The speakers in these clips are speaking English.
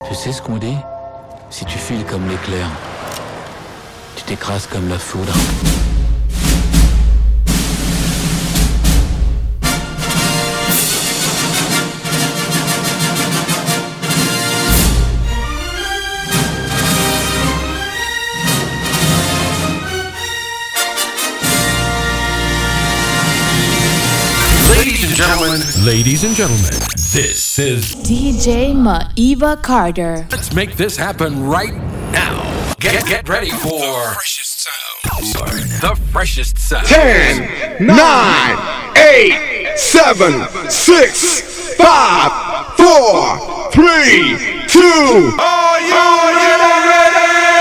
Tu sais ce qu'on dit? Si tu files comme l'éclair, tu t'écrases comme la foudre. Ladies and gentlemen, this is DJ Maiva Carter. Let's make this happen right now. Get ready for the freshest sound. The freshest sound. 10, 9, 8, 7, 6, 5, 4, 3, 2. Are you ready?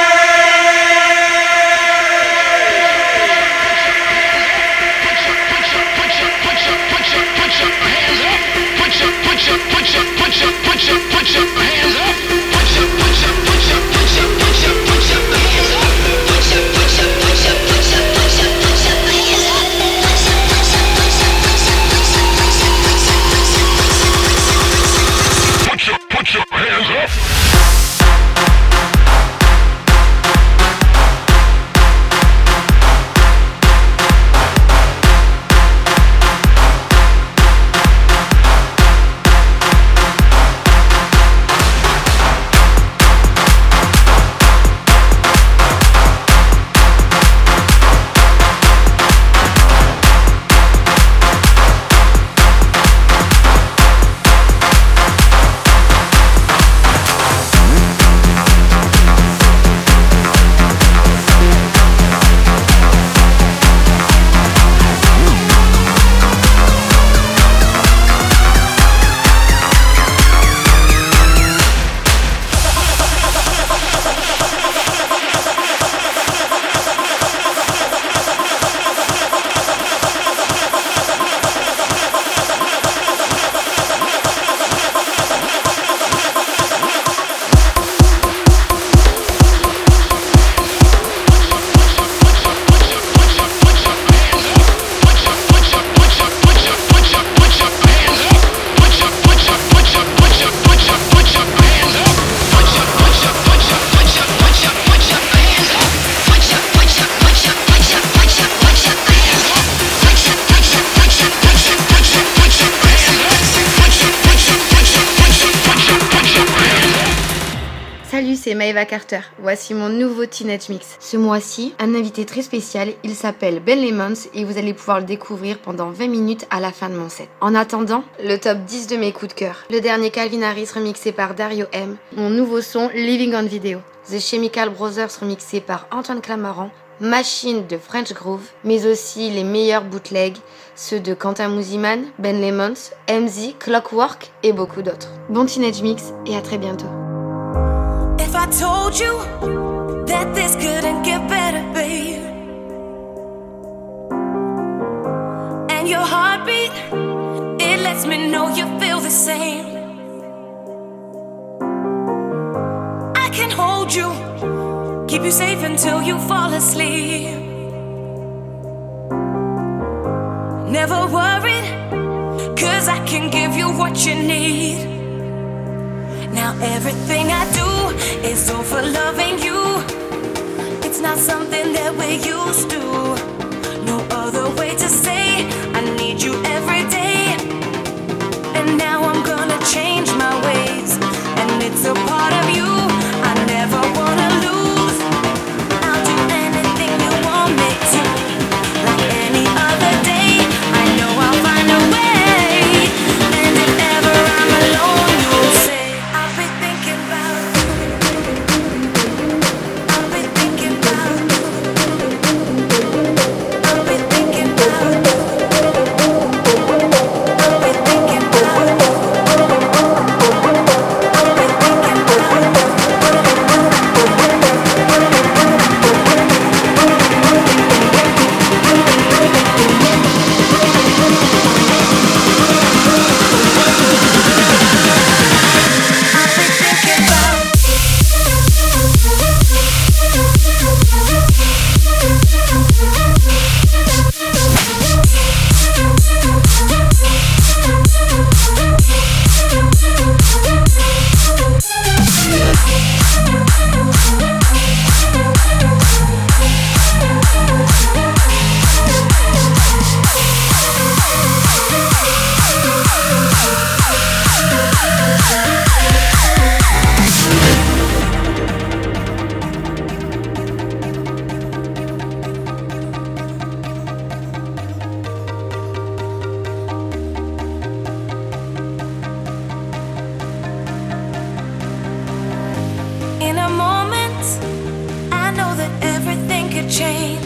C'est Maiva Carter. Voici mon nouveau Teenage Mix. Ce mois-ci, un invité très spécial, il s'appelle Ben Lemons et vous allez pouvoir le découvrir pendant 20 minutes à la fin de mon set. En attendant, le top 10 de mes coups de cœur. Le dernier Calvin Harris remixé par Dario M. Mon nouveau son Living on Video. The Chemical Brothers remixé par Antoine Clamaran. Machine de French Groove, mais aussi les meilleurs bootlegs, ceux de Quentin Mouziman, Ben Lemons, MZ, Clockwork et beaucoup d'autres. Bon Teenage Mix et à très bientôt. If I told you that this couldn't get better, babe, and your heartbeat, it lets me know you feel the same. I can hold you, keep you safe until you fall asleep. Never worried, 'cause I can give you what you need. Now everything I do is all for loving you. It's not something that we're used to. No other way to say I need you every day. And now I'm gonna change my ways, and it's a part of you I never wanna lose. I'll do anything you want me to. Like any other day, I know I'll find a way. And if ever I'm alone, you'll say chance, I know that everything could change.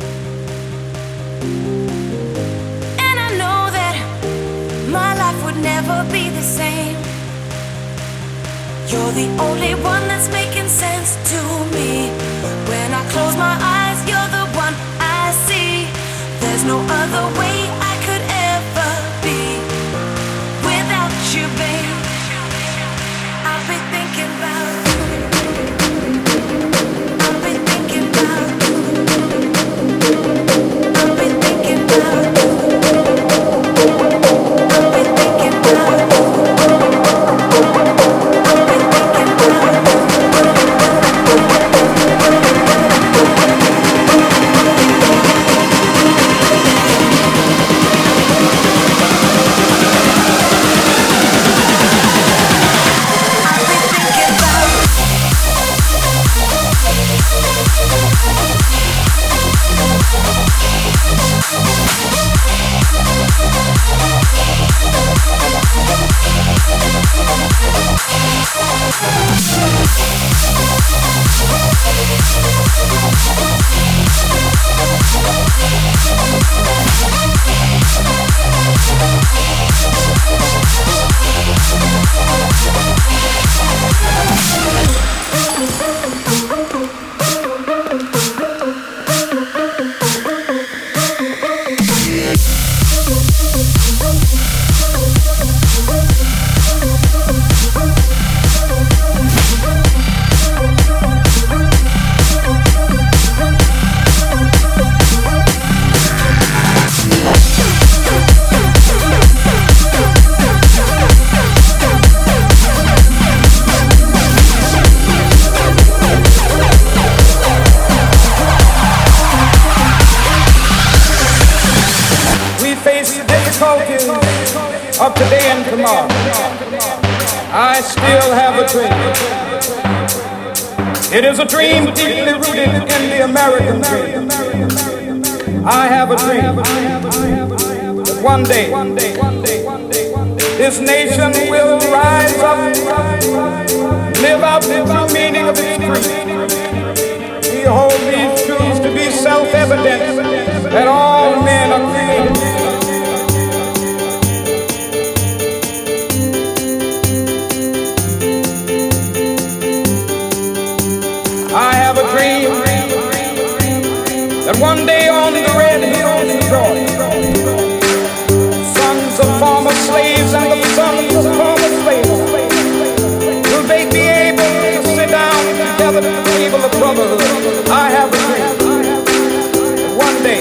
And I know that my life would never be the same. You're the only one that's making sense to me. When I close my eyes, you're the one I see. There's no other way I could ever be without you, babe. I'll be thinking about you. I'll be thinking about you. I'll be thinking about you. I'll be thinking about you. Of today and tomorrow, I still have a dream. It is a dream deeply rooted in the American dream. I have a dream that one day this nation will rise up, live out the true meaning of its creed. We hold these truths to be self-evident that all men are created. I have a dream that one day on the red hills of Georgia, sons of former slaves and the sons of former slaves will they be able to sit down together at the table of brotherhood. I have a dream that one day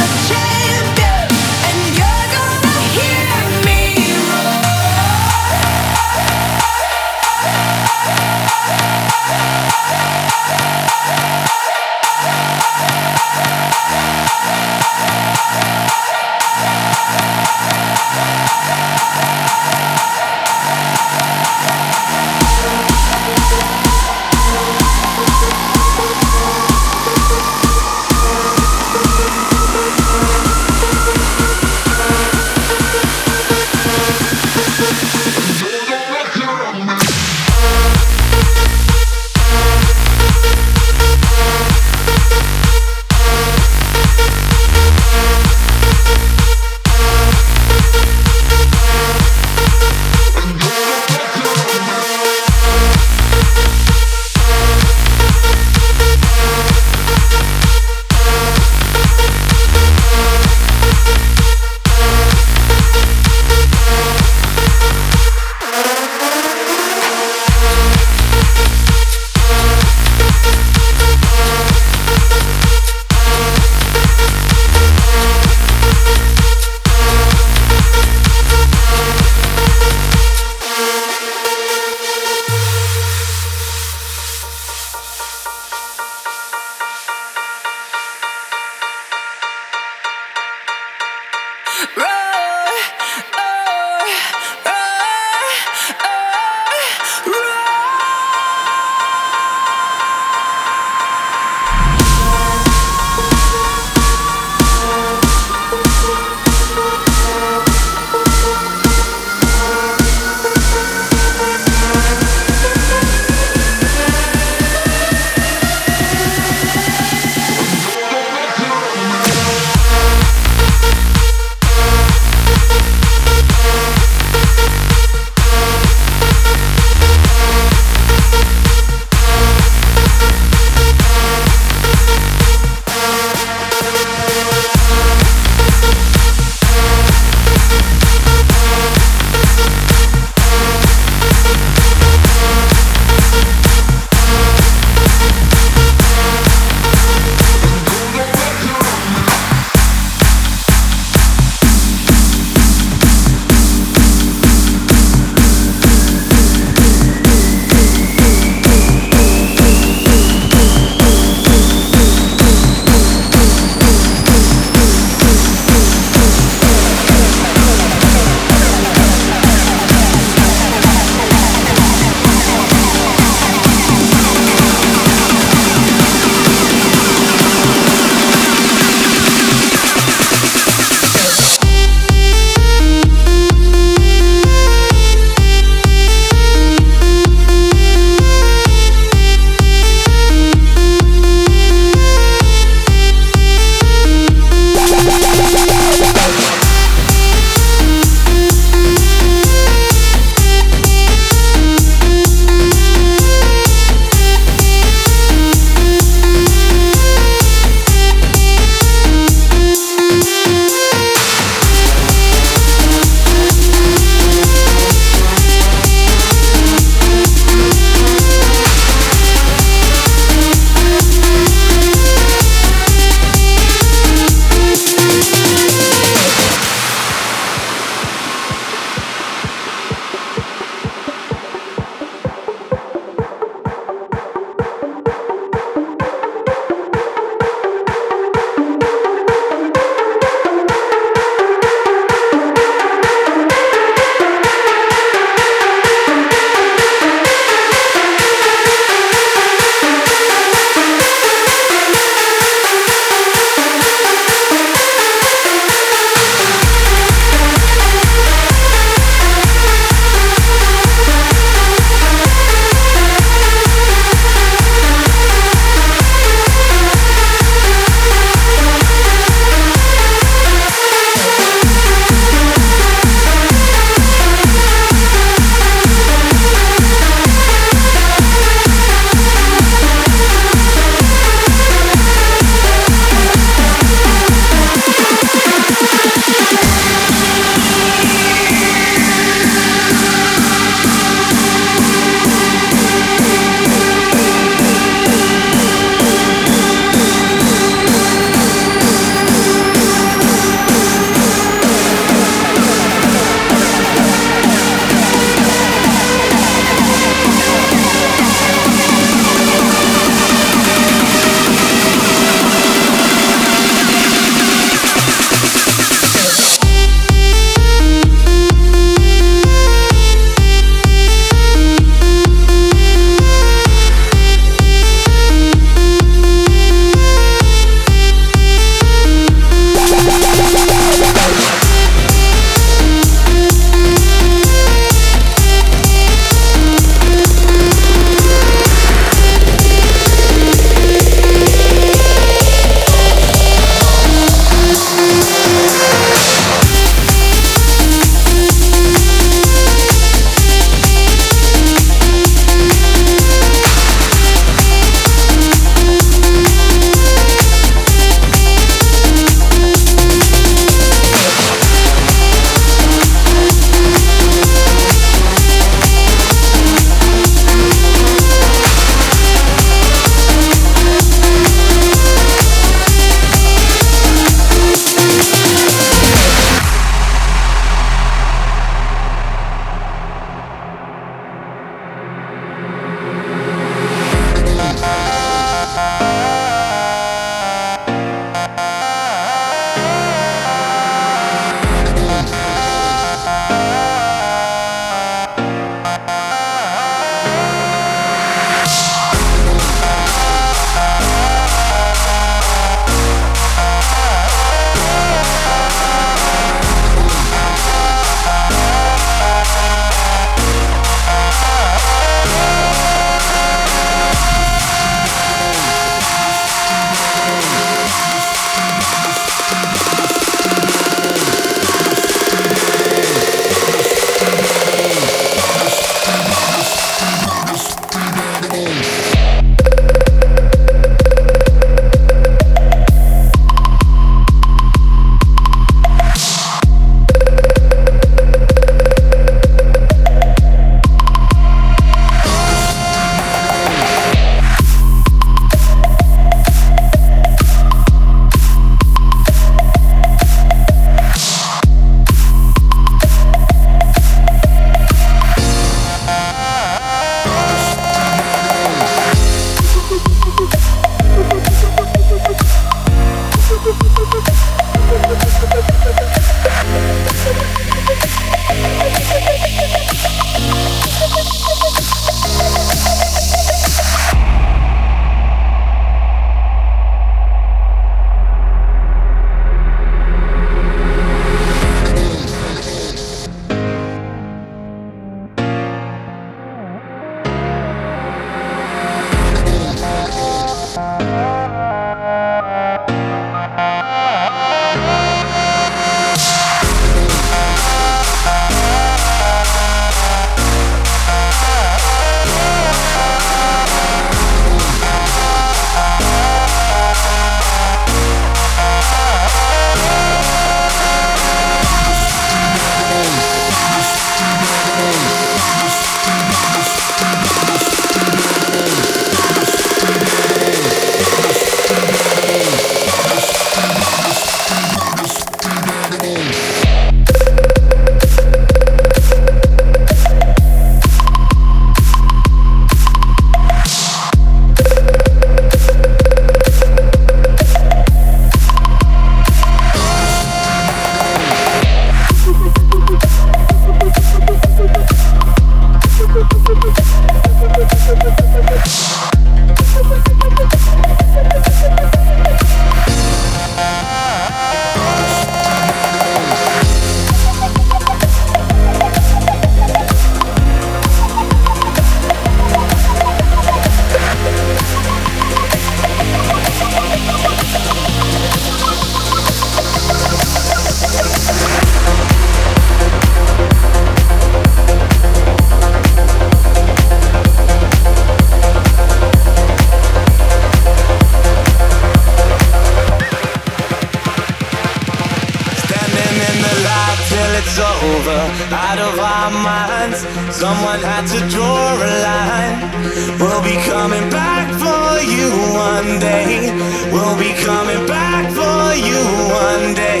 over, out of our minds. Someone had to draw a line. We'll be coming back for you one day. We'll be coming back for you one day.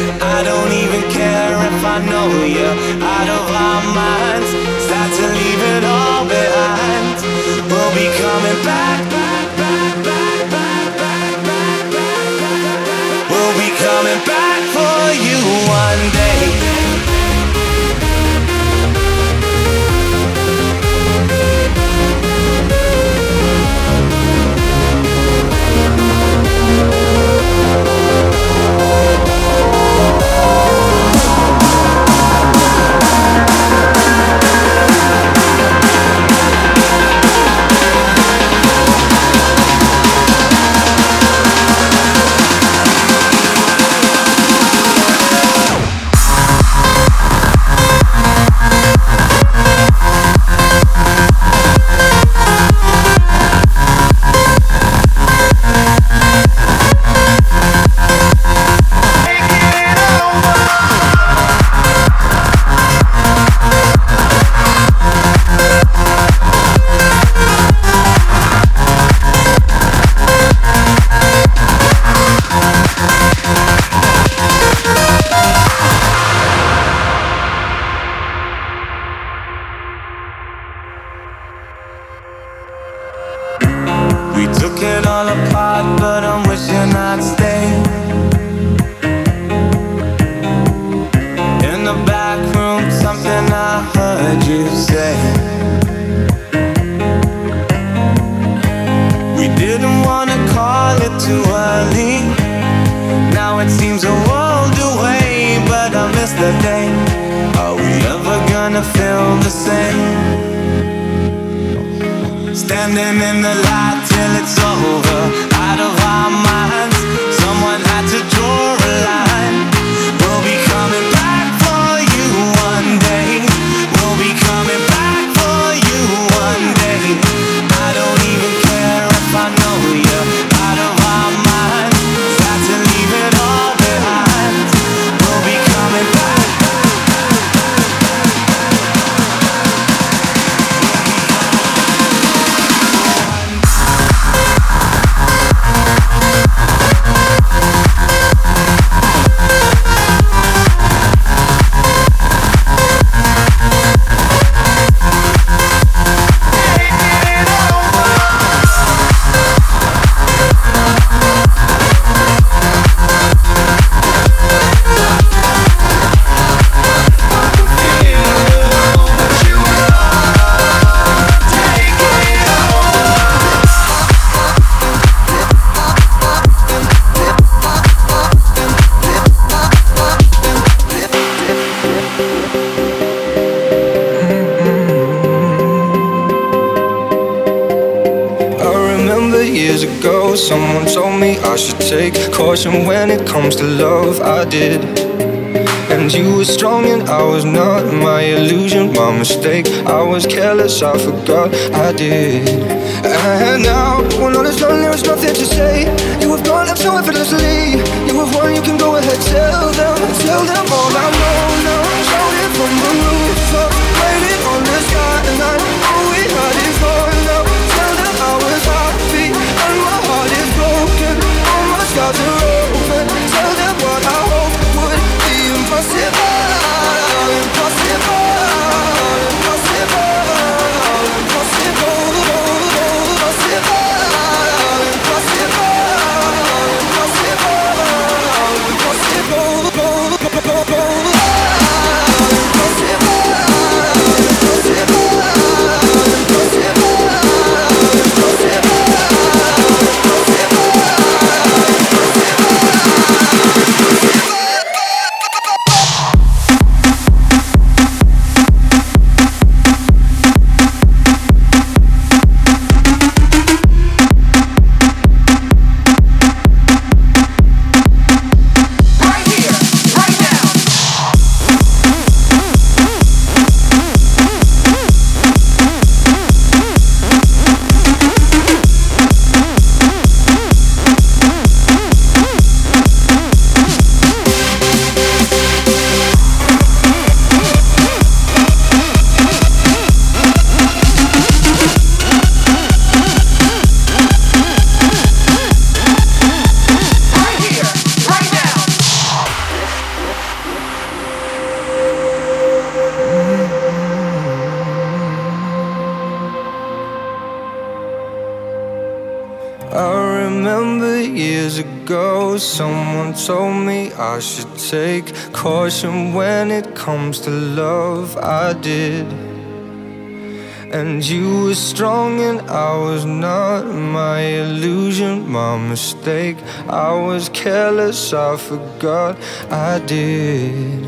I don't even care if I know you're out of our minds. Start to leave it all behind. We'll be coming back, back, back, back, back, back, back, back, back. We'll be coming back for you one day. Standing in the light till it's over, out of our minds. Someone had to draw a line. We'll be coming back for you one day. We'll be coming back for you one day. I don't even care if I know you're out of our minds. Start to leave it all behind. We'll be coming back. me I should take caution when it comes to love. I did. And you were strong and I was not. My illusion, my mistake. I was careless, I forgot I did. And now, when all is done, there is nothing to say. You have gone up so effortlessly. You have won, you can go ahead, tell them all I know now. Shout it from the rooftop, write it on the skyline. All we had is gone now. Tell them I was happy and my heart is broken. All my scars are open. Tell them what I hope would be impossible. Someone told me I should take caution when it comes to love. I did. And you were strong and I was not. My illusion, my mistake. I was careless, I forgot I did.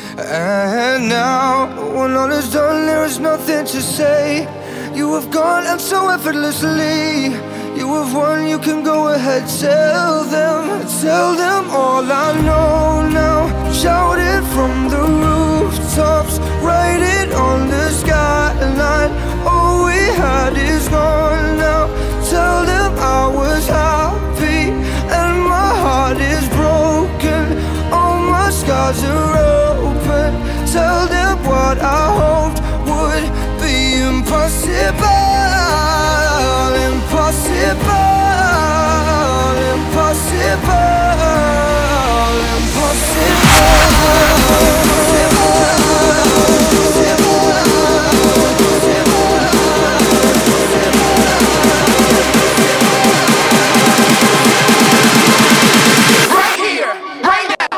And now, when all is done, there is nothing to say. You have gone and so effortlessly. You have won, you can go ahead, tell them all I know now. Shout it from the rooftops, write it on the skyline. All we had is gone now. Tell them I was happy and my heart is broken. All my scars are open. Tell them what I hoped would be impossible. Impossible, right here, right now.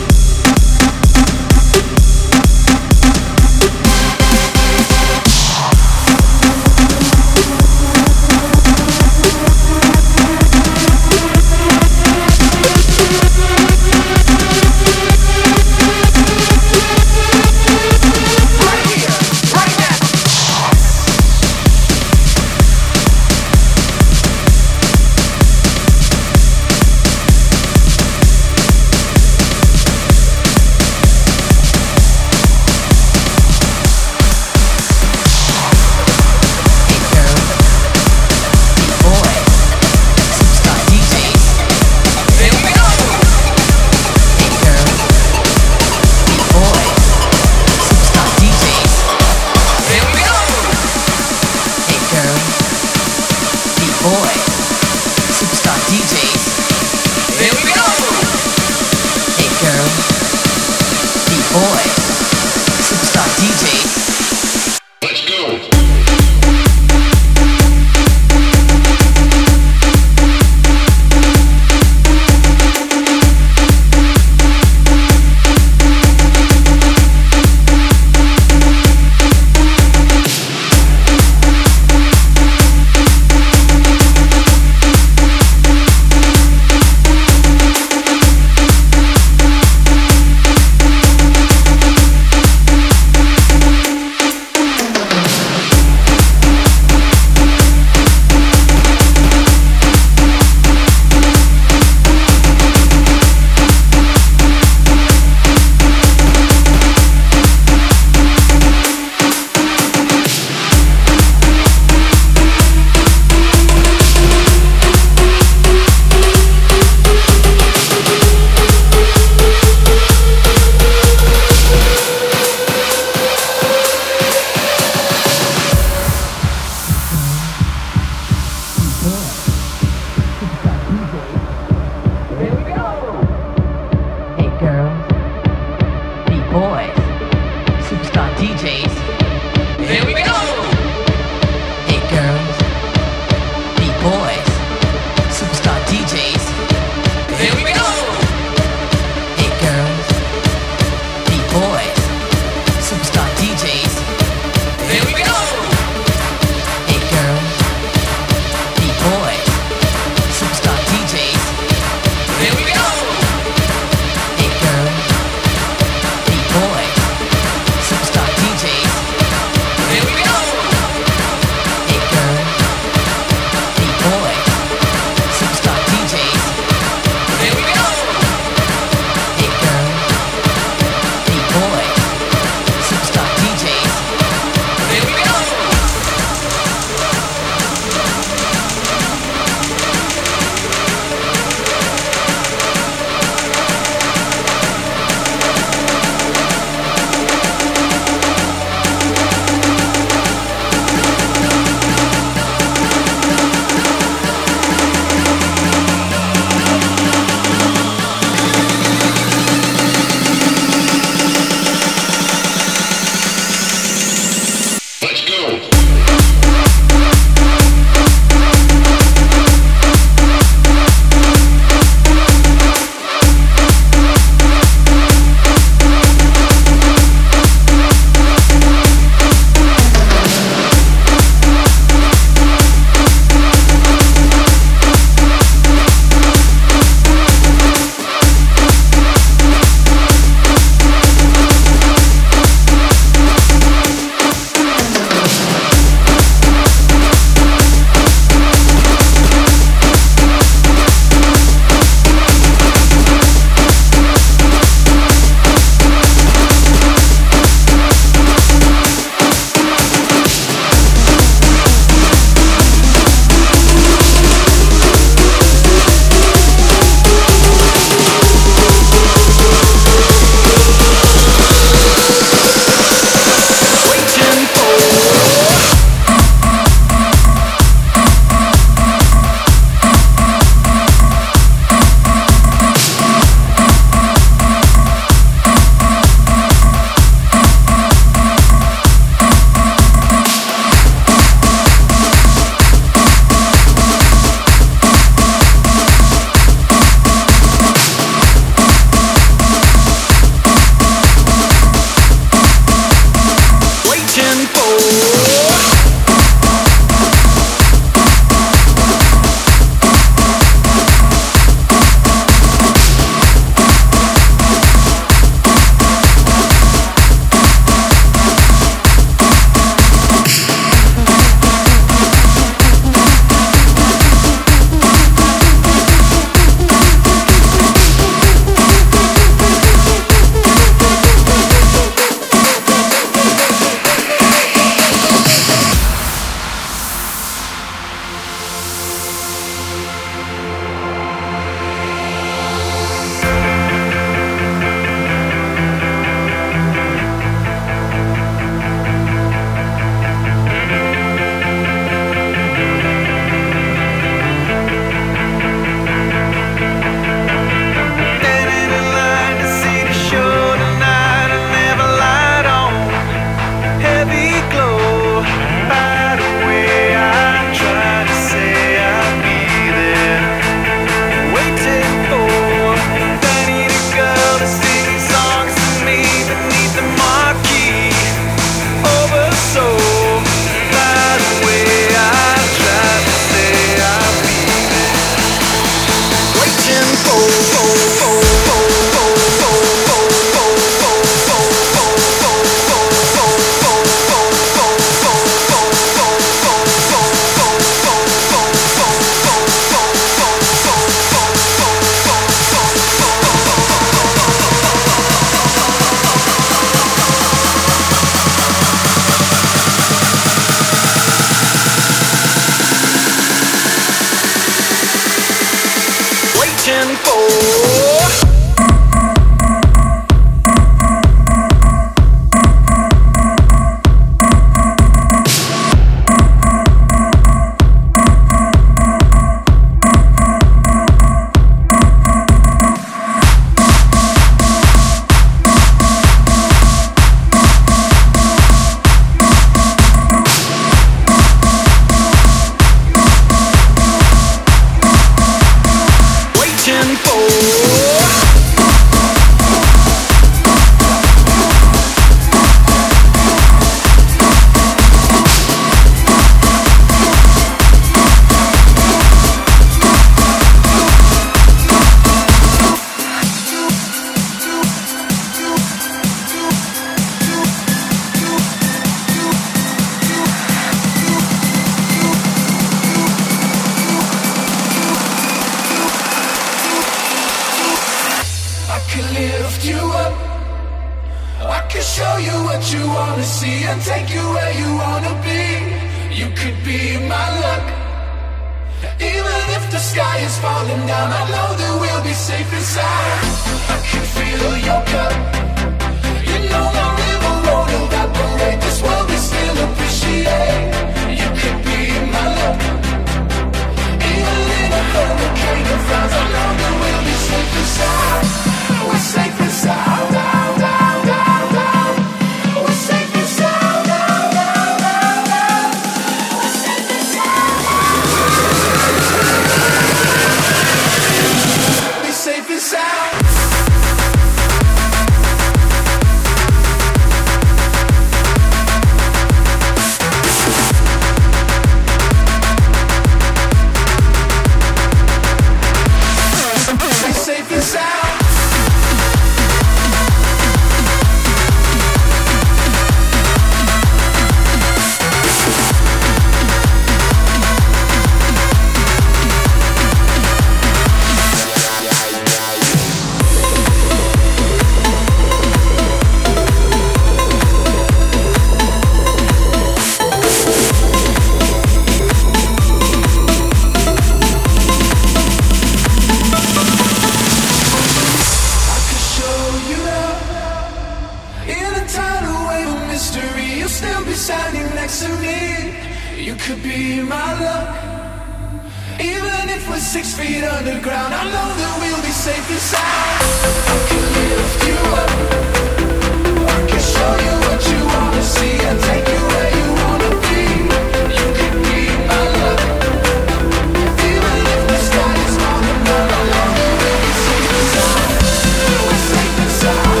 standing next to me. You could be my luck. Even if we're 6 feet underground, I know that we'll be safe and sound. I can lift you up. I can show you what you wanna see and take you where you wanna be. You could be my luck. Even if the sky is falling down, I know that we'll be safe and sound. We're safe and sound.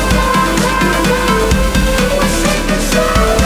We're safe and sound.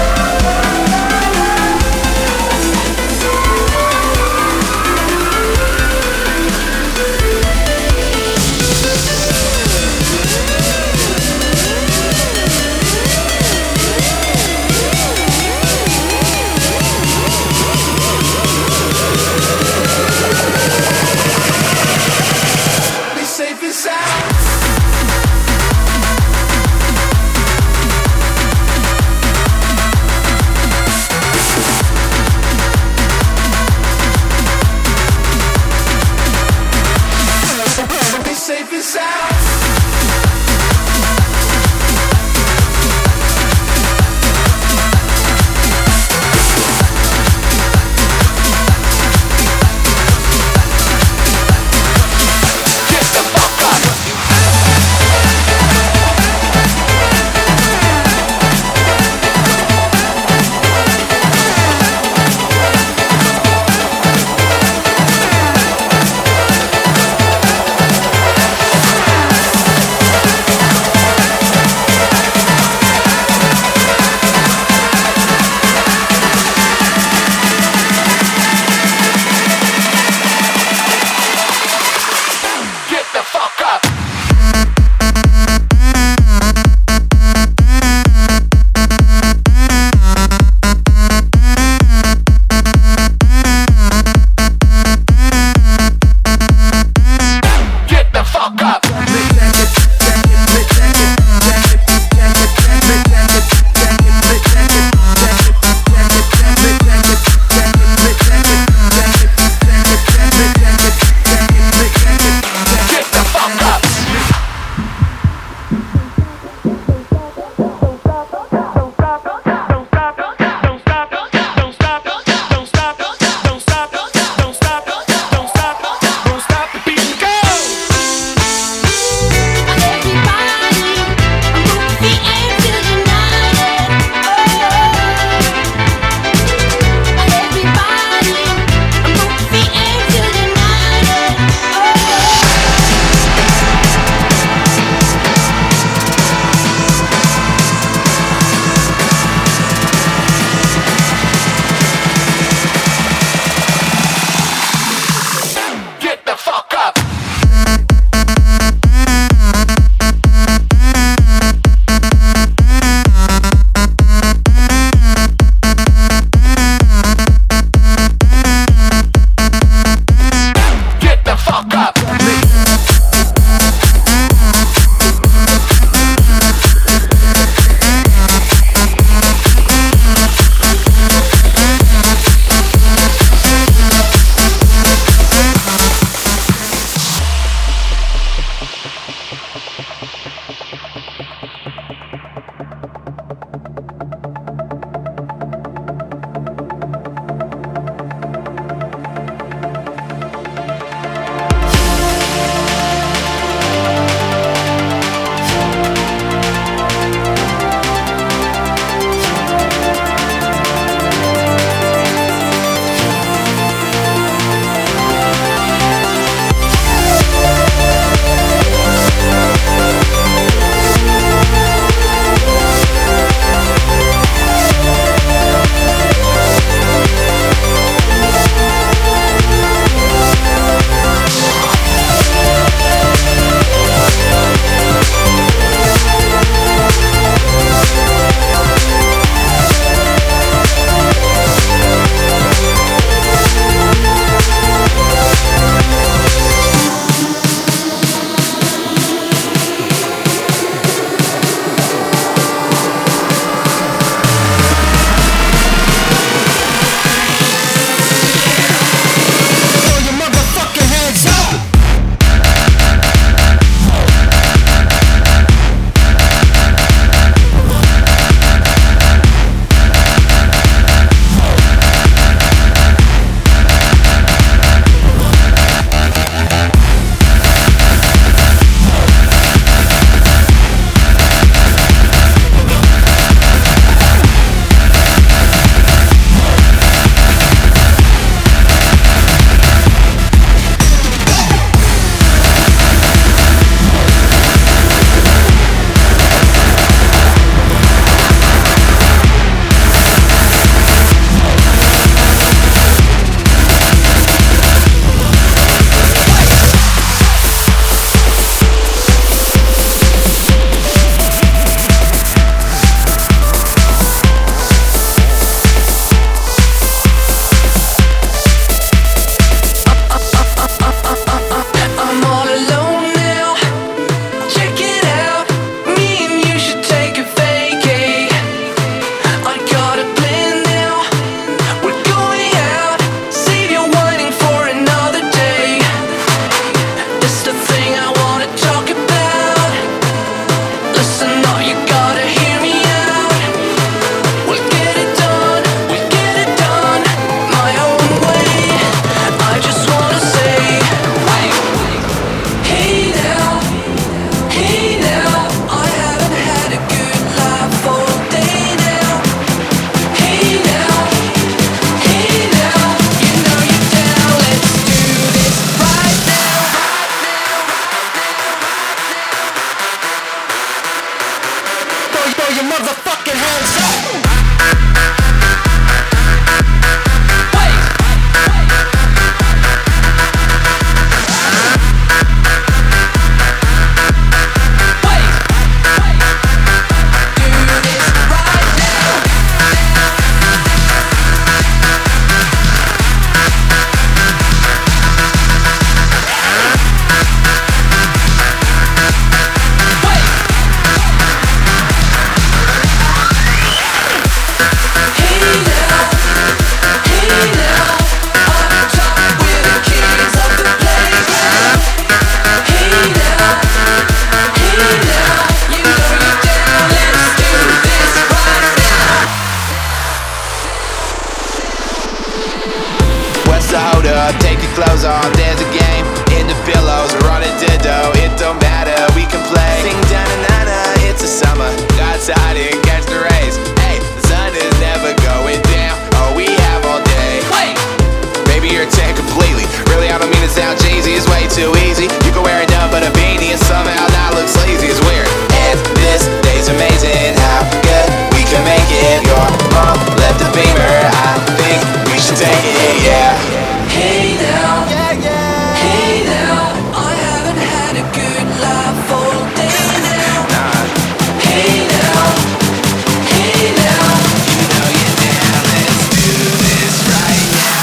flows on. There's a game in the billows. We're on a ditto, it don't matter, we can play. Sing da-na-na-na, it's a summer. Go outside and catch the rays. Hey, the sun is never going down. All we have all day. Wait! Maybe you're 10 completely. Really, I don't mean to sound cheesy, it's way too easy. You can wear it up but a beanie and somehow not look sleazy. It's weird. And this day's amazing, how good we can make it. Your mom left a beamer, I think we should take it, yeah. Hey now, hey now, I haven't had a good laugh all day now. Hey now, hey now, you know you're down, let's do this right now.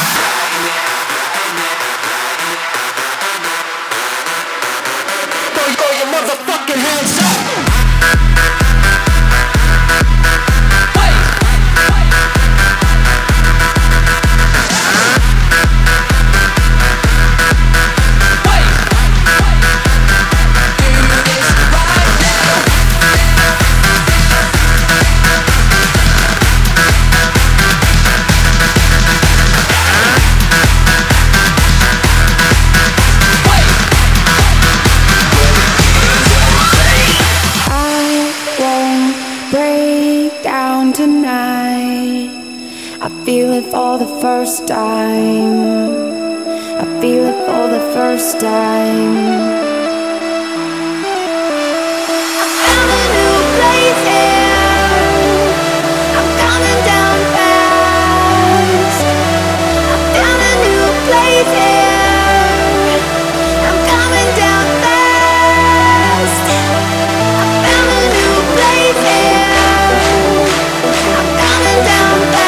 Throw your motherfucking hands up. For the first time, I feel it for the first time. I found a new place here. I'm coming down fast. I found a new place here. I'm coming down fast. I found a new place here. I'm coming down fast.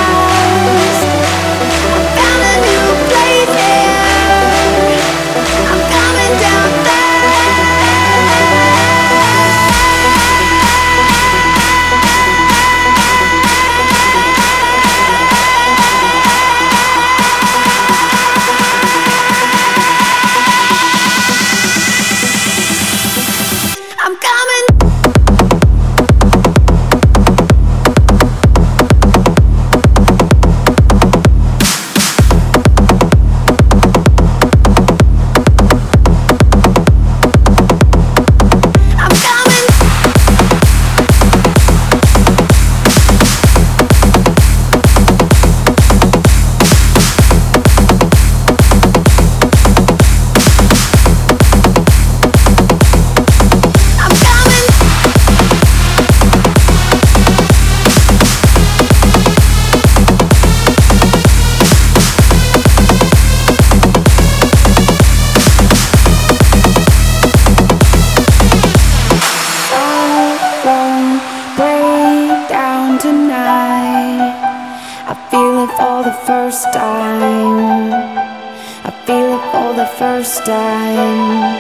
First time.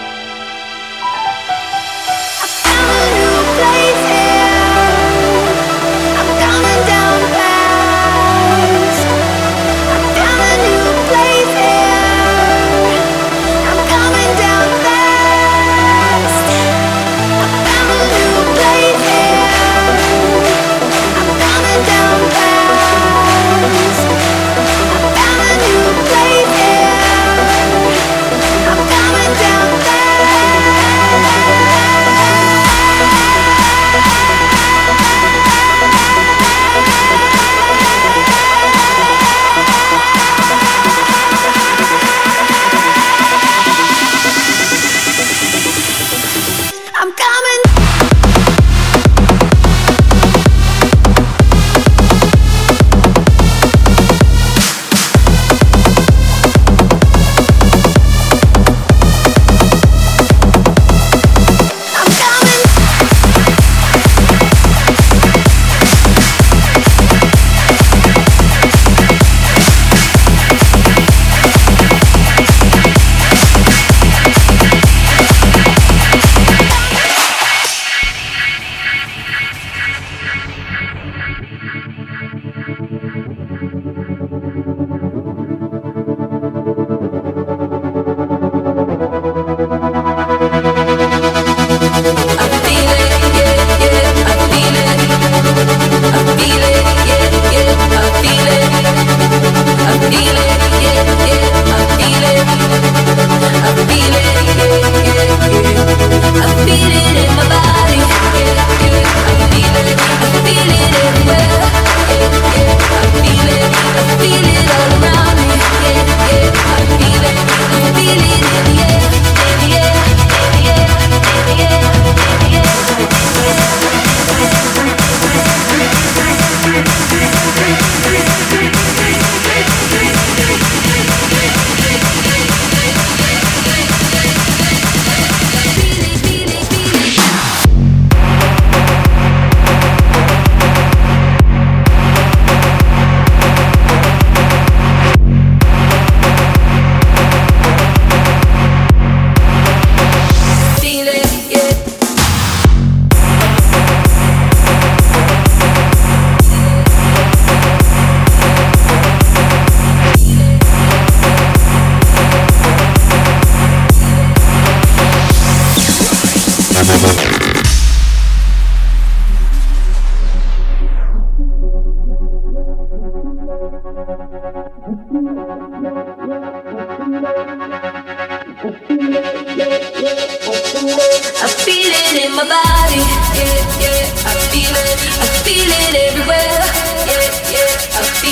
I found a new place here. I'm coming down fast. I found a new place here. I'm coming down fast. I found a new place here. I'm coming down fast. I found a new place here. I'm coming down.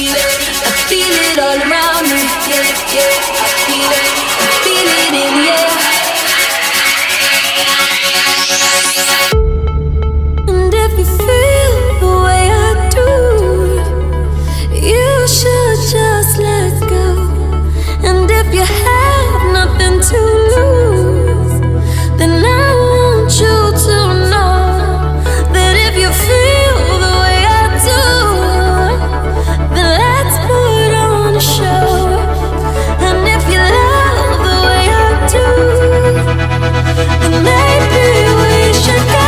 feel it all around me. Yeah, yeah, I feel it in the air. And if you feel the way I do, you should just let go. And if you have nothing to lose, then I want you to know that if you feel the way I do, then let's put on a show. And if you love the way I do, then maybe we should go.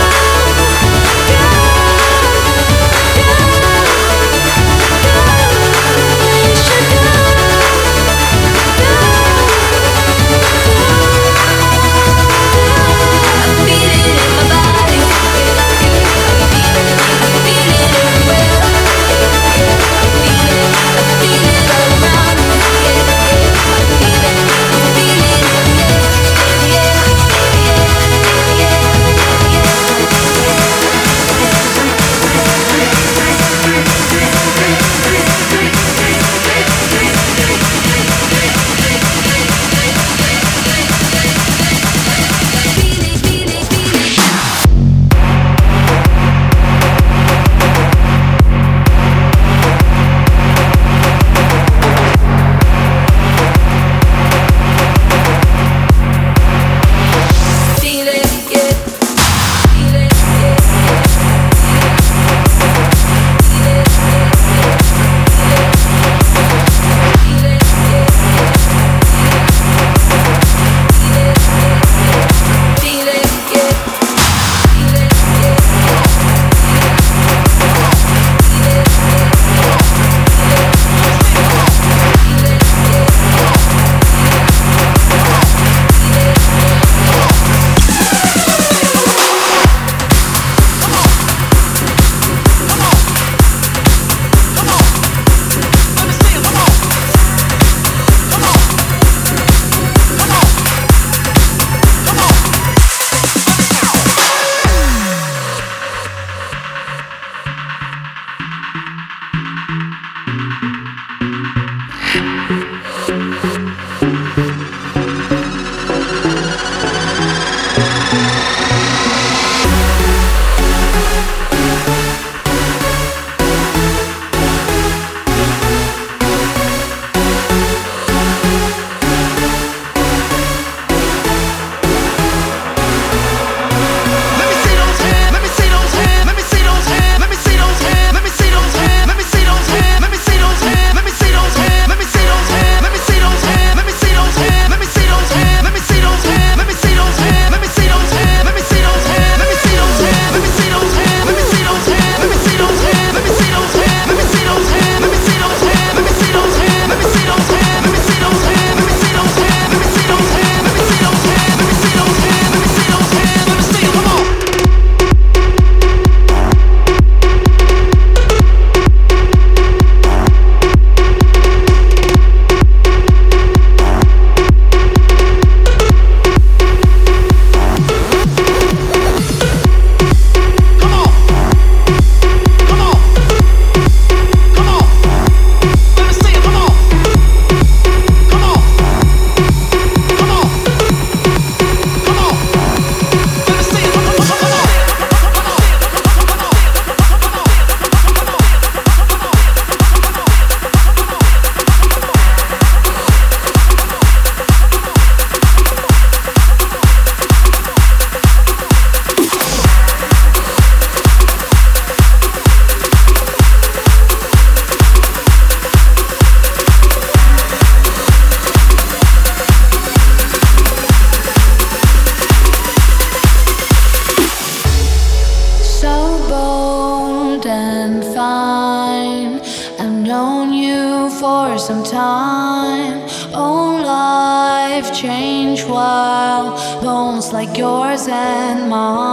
some time. Oh, life changed while bones like yours and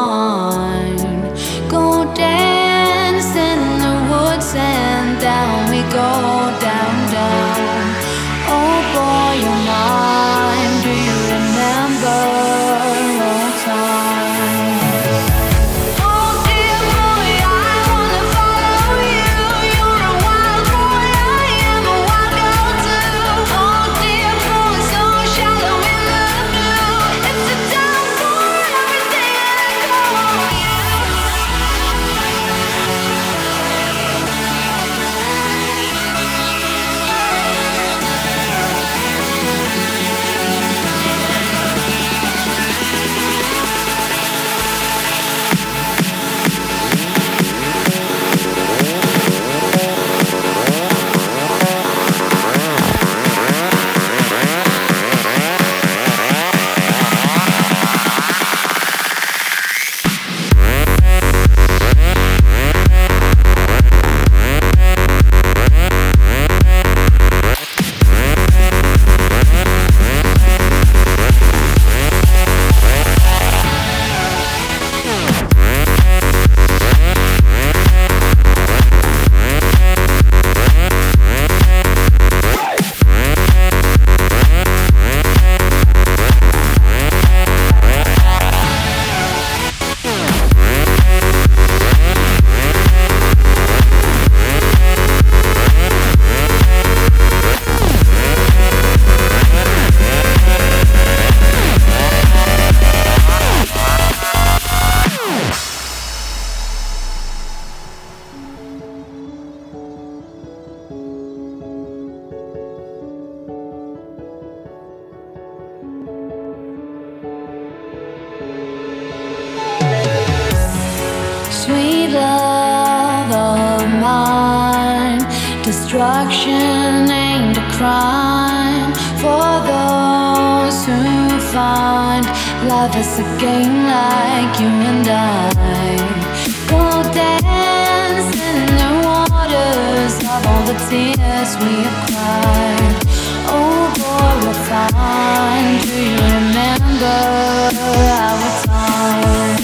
mine go dance in the woods and down we go, down, down. Oh boy, you're mine. Do you remember old times? Oh dear boy, I wanna follow you. You're a wild boy, Destruction ain't a crime for those who find life is a game like you and I. Go dance in the waters of all the tears we have cried. Oh boy, we're fine. Do you remember our time?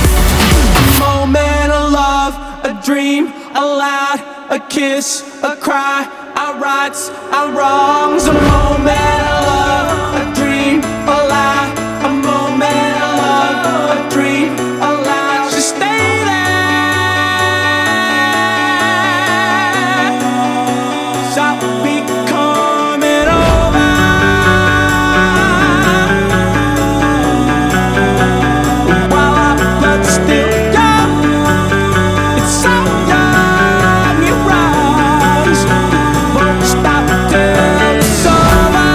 kiss, a cry. right our rights, our wrongs. A moment of love, a dream, a lie. A moment of love, a dream, a lie. Just stay there. Stop becoming over. While our blood's still young, it's so young it runs. Won't stop till it's over.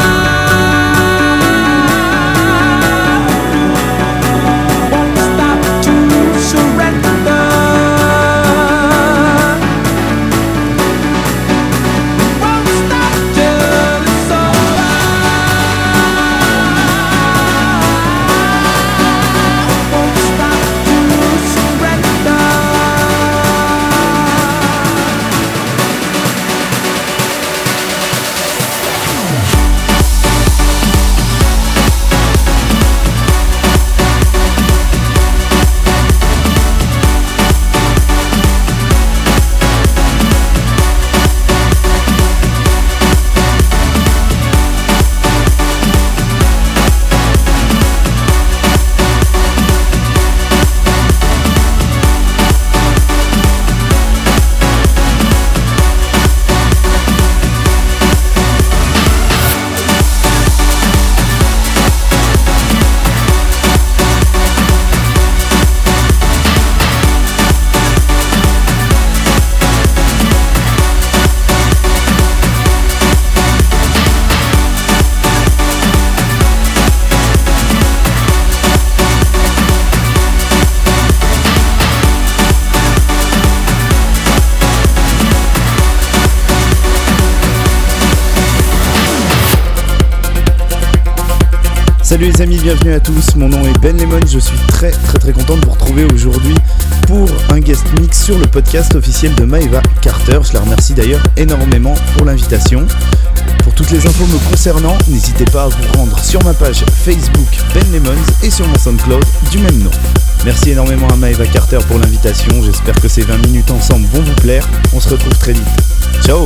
Won't stop to surrender. Won't stop till it's over. Won't stop to surrender. Salut les amis, bienvenue à tous, mon nom est Ben Lemon, je suis très content de vous retrouver aujourd'hui pour un guest mix sur le podcast officiel de Maeva Carter. Je la remercie d'ailleurs énormément pour l'invitation. Pour toutes les infos me concernant, n'hésitez pas à vous rendre sur ma page Facebook Ben Lemons et sur mon SoundCloud du même nom. Merci énormément à Maeva Carter pour l'invitation, j'espère que ces 20 minutes ensemble vont vous plaire, on se retrouve très vite. Ciao.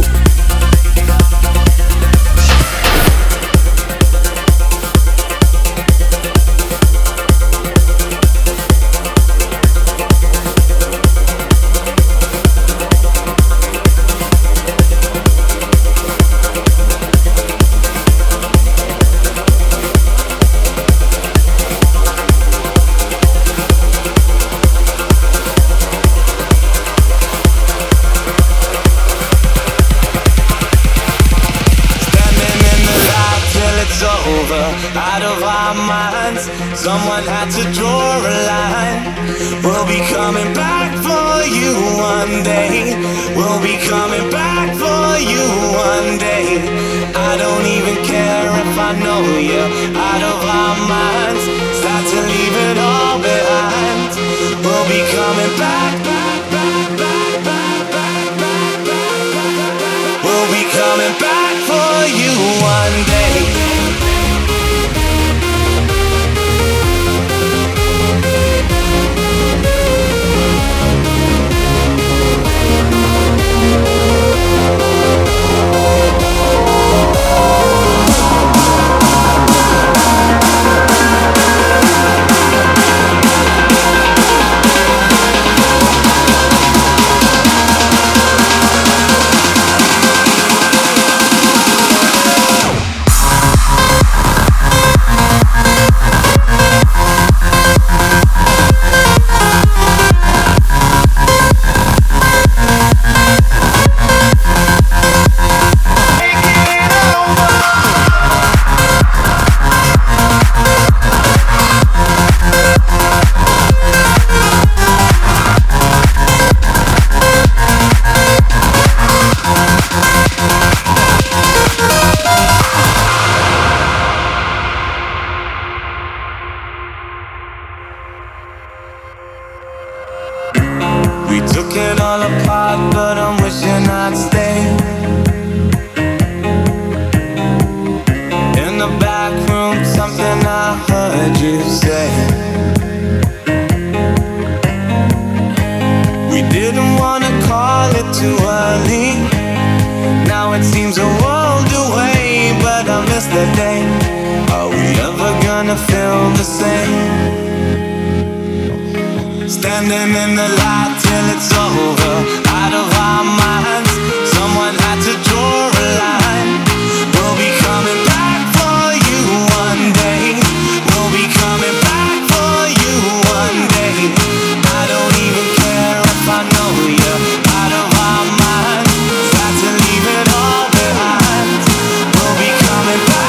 Out of our minds, someone had to draw a line. We'll be coming back for you one day. We'll be coming back for you one day. I don't even care if I know you. Out of our minds, start to leave it all behind. We'll be coming back, back, back, back, back, back, back, back, back. We'll be coming back for you one day. Now it seems a world away, but I miss that day. Are we ever gonna feel the same? Standing in the light till it's over, out of our minds. Someone had to draw a line. We'll be coming back for you one day. We'll be coming back for you one day. I don't even care if I know you're out of our minds. Got to leave it all behind. We'll be coming back.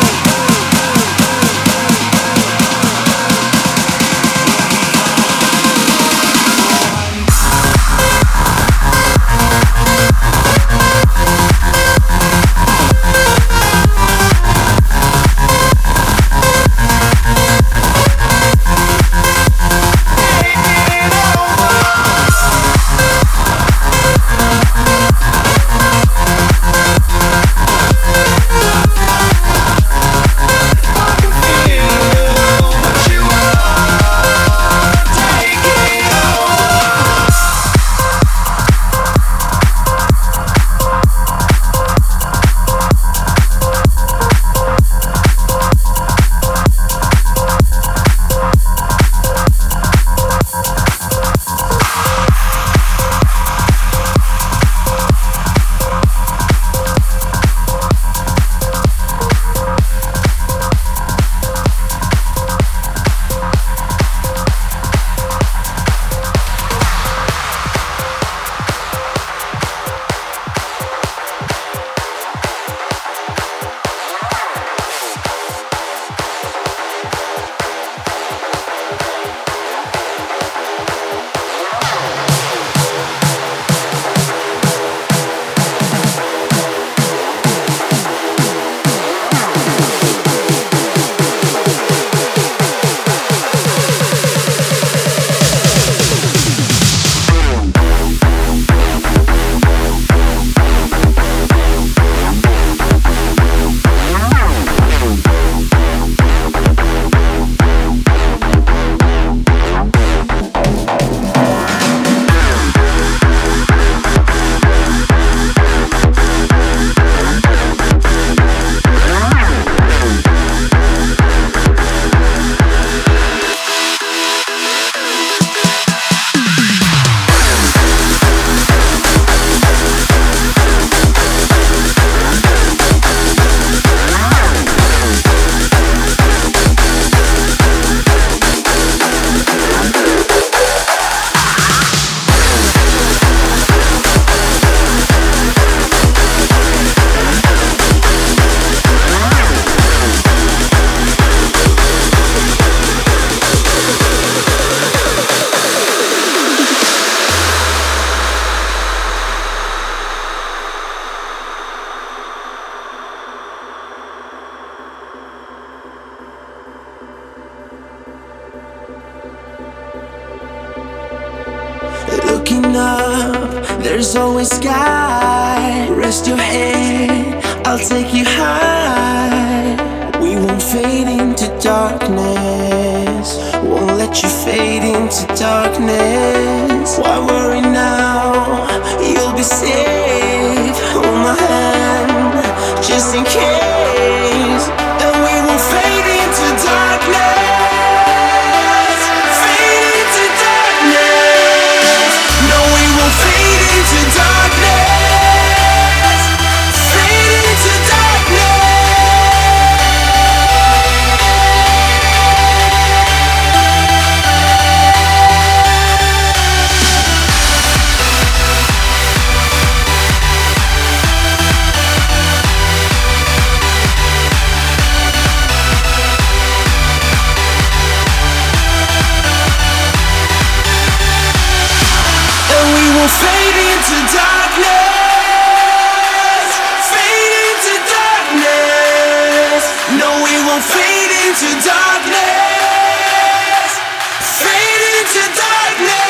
Looking up, there's always sky. Rest your head, I'll take you high. We won't fade into darkness. Won't let you fade into darkness. Why worry now? You'll be safe. Hold my hand, just in case. And we won't fade into darkness. Fade into darkness. No, we won't fade into darkness. Fade into darkness. Fade into darkness. Fade into darkness. No, we won't fade into darkness. Fade into darkness.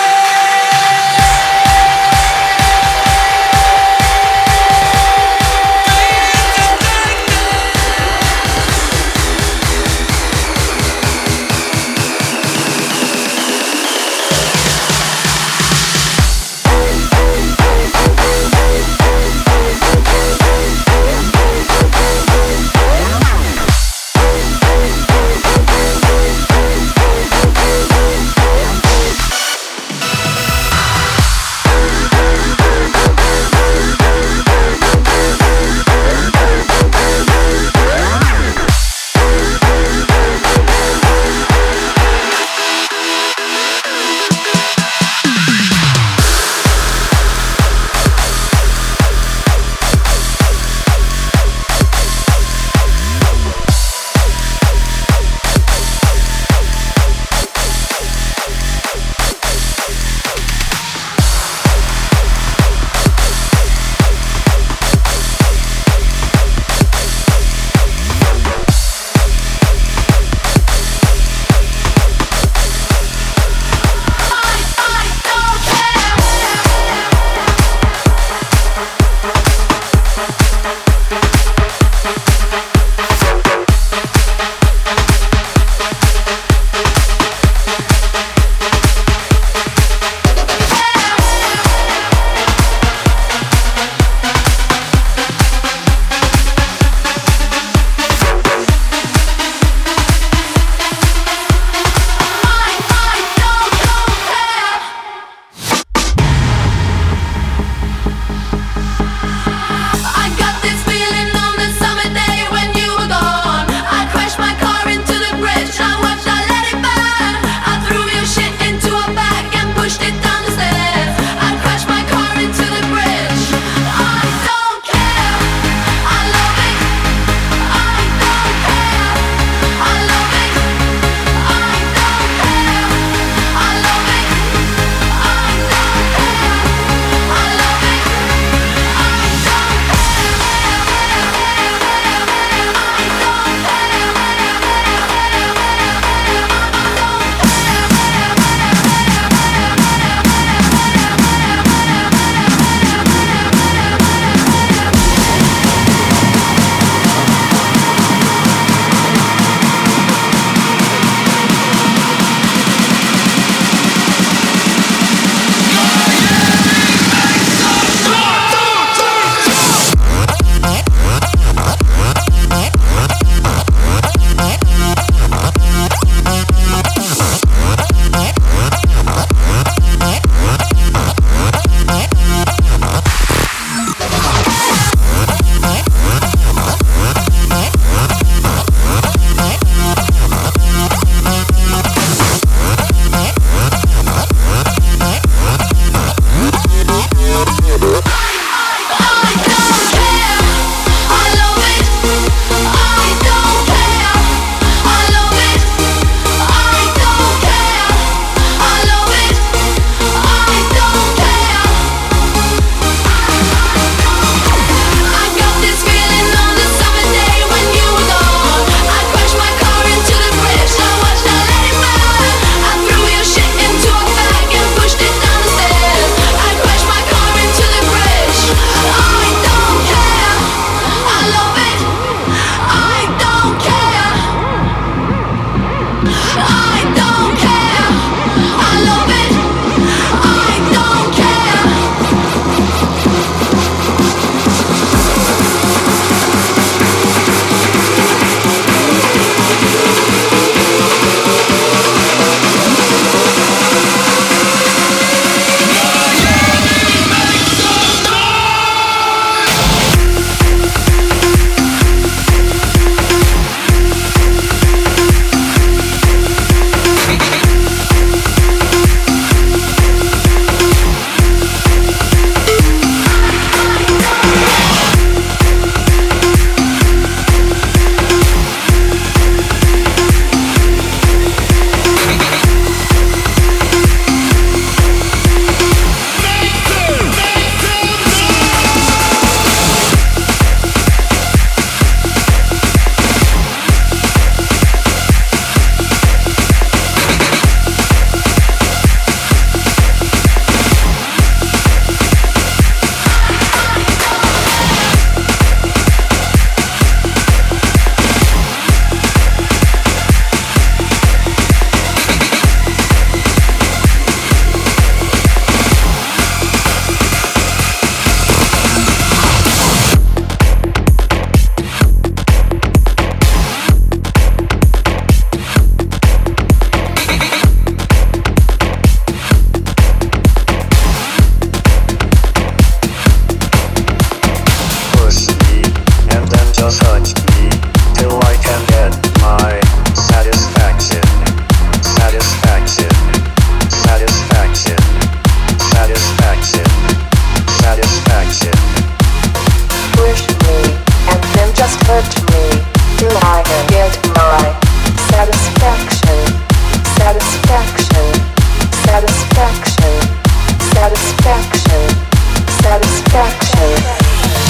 just touch me till I can get my satisfaction. Satisfaction. Satisfaction. Satisfaction. Satisfaction. Push me and then just hurt me till I can get my satisfaction. Satisfaction. Satisfaction. Satisfaction. Satisfaction.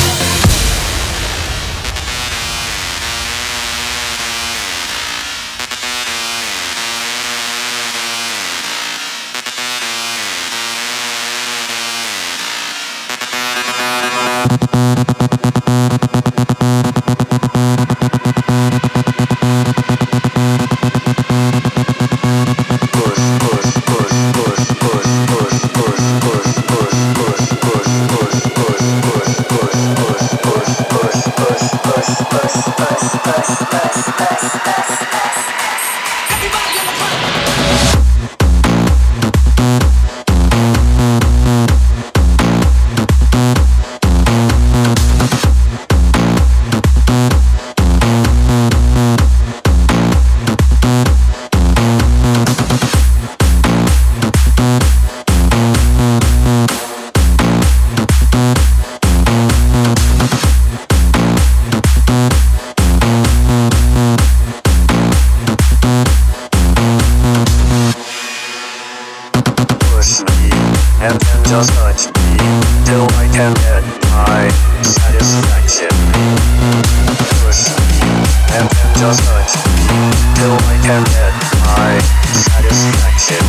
Just touch me till I can get my satisfaction. Push me and then just touch me till I can get my satisfaction.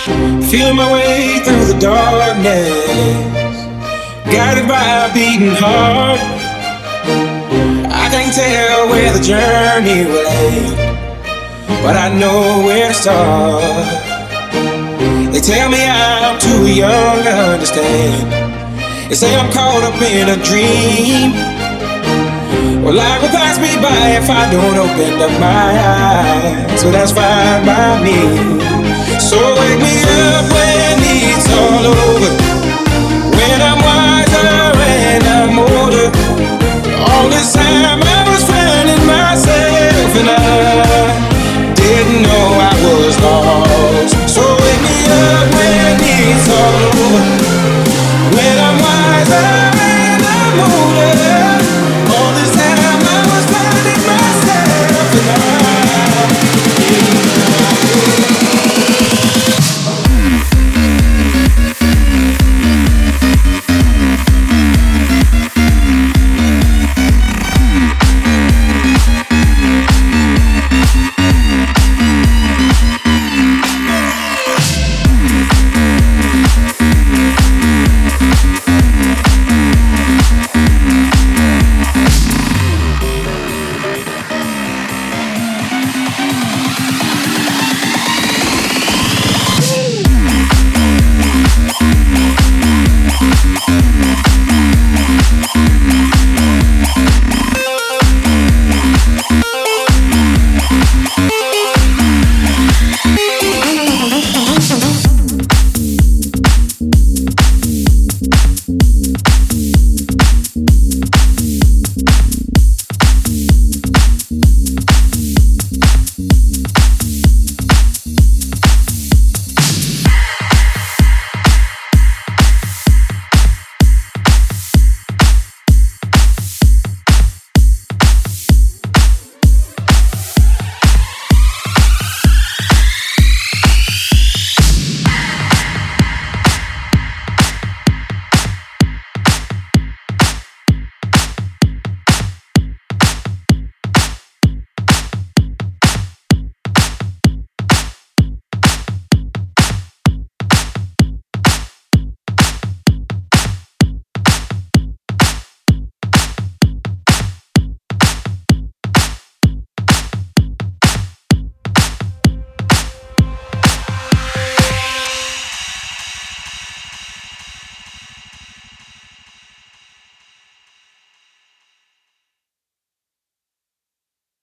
Feeling my way through the darkness, guided by a beating heart. I can't tell where the journey will end, but I know where to start. They tell me I'm too young to understand. They say I'm caught up in a dream. Well, life will pass me by if I don't open up my eyes. So that's fine by me.